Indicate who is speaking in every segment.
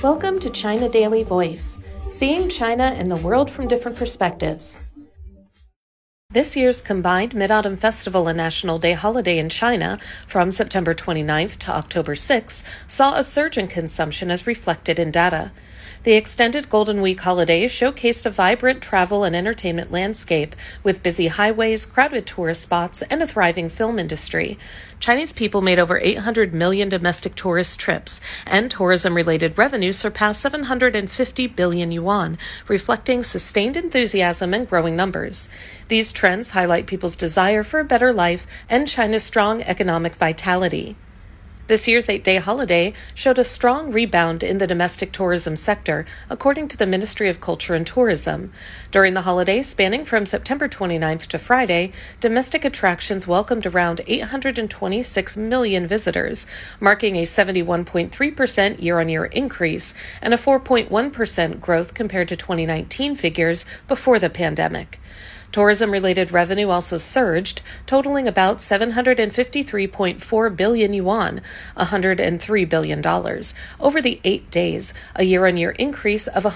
Speaker 1: Welcome to China Daily Voice, seeing China and the world from different perspectives. This year's combined Mid-Autumn Festival and National Day holiday in China, from September 29th to October 6th, saw a surge in consumption as reflected in data. The extended Golden Week holiday showcased a vibrant travel and entertainment landscape with busy highways, crowded tourist spots, and a thriving film industry. Chinese people made over 800 million domestic tourist trips, and tourism-related revenue surpassed 750 billion yuan, reflecting sustained enthusiasm and growing numbers. These trends highlight people's desire for a better life and China's strong economic vitality. This year's 8-day holiday showed a strong rebound in the domestic tourism sector, according to the Ministry of Culture and Tourism. During the holiday, spanning from September 29th to Friday, domestic attractions welcomed around 826 million visitors, marking a 71.3% year-on-year increase and a 4.1% growth compared to 2019 figures before the pandemic. Tourism-related revenue also surged, totaling about 753.4 billion yuan, $103 billion, over the 8 days, a year-on-year increase of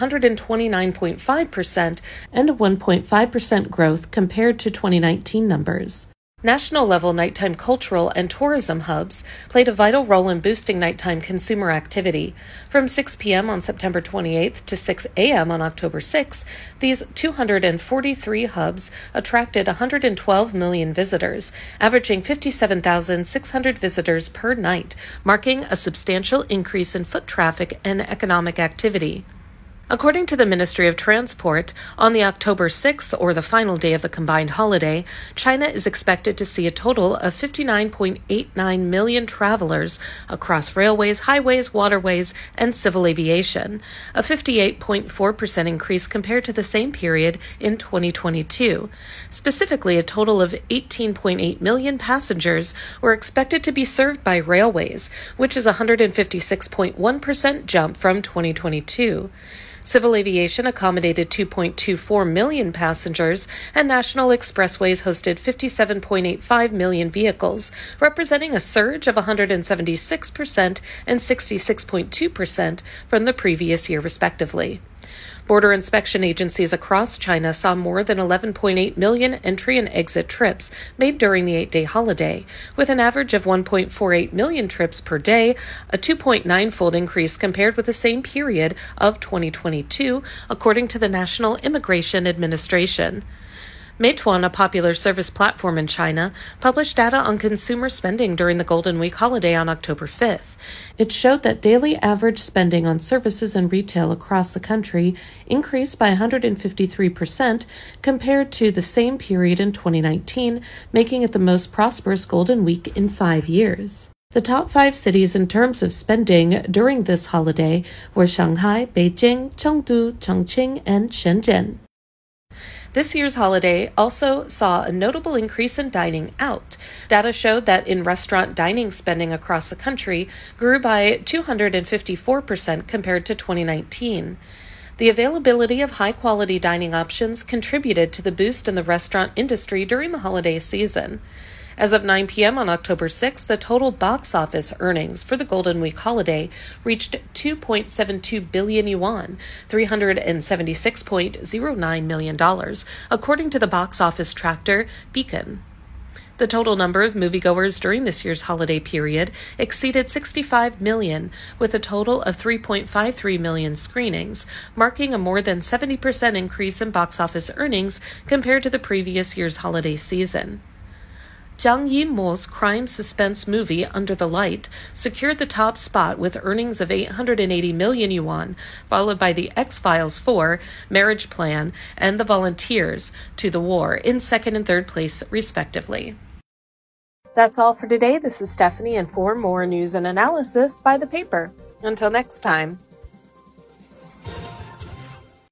Speaker 1: 129.5% and a 1.5% growth compared to 2019 numbers. National-level nighttime cultural and tourism hubs played a vital role in boosting nighttime consumer activity. From 6 p.m. on September 28th to 6 a.m. on October 6th, these 243 hubs attracted 112 million visitors, averaging 57,600 visitors per night, marking a substantial increase in foot traffic and economic activity. According to the Ministry of Transport, on the October 6th, or the final day of the combined holiday, China is expected to see a total of 59.89 million travelers across railways, highways, waterways, and civil aviation, a 58.4% increase compared to the same period in 2022. Specifically, a total of 18.8 million passengers were expected to be served by railways, which is a 156.1% jump from 2022. Civil aviation accommodated 2.24 million passengers, and national expressways hosted 57.85 million vehicles, representing a surge of 176% and 66.2% from the previous year, respectively. Border inspection agencies across China saw more than 11.8 million entry and exit trips made during the 8-day holiday, with an average of 1.48 million trips per day, a 2.9-fold increase compared with the same period of 2022, according to the National Immigration Administration. Meituan, a popular service platform in China, published data on consumer spending during the Golden Week holiday on October 5th. It showed that daily average spending on services and retail across the country increased by 153% compared to the same period in 2019, making it the most prosperous Golden Week in 5 years. The top 5 cities in terms of spending during this holiday were Shanghai, Beijing, Chengdu, Chongqing, and Shenzhen. This year's holiday also saw a notable increase in dining out. Data showed that in-restaurant dining spending across the country grew by 254% compared to 2019. The availability of high-quality dining options contributed to the boost in the restaurant industry during the holiday season. As of 9 p.m. on October 6th, the total box office earnings for the Golden Week holiday reached 2.72 billion yuan, $376.09 million, according to the box office tractor Beacon. The total number of moviegoers during this year's holiday period exceeded 65 million, with a total of 3.53 million screenings, marking a more than 70% increase in box office earnings compared to the previous year's holiday season. Zhang Yimou's crime suspense movie Under the Light secured the top spot with earnings of 880 million yuan, followed by The X-Files 4, Marriage Plan, and The Volunteers to the War in second and third place, respectively. That's all for today. This is Stephanie, and for more news and analysis, buy the paper. Until next time.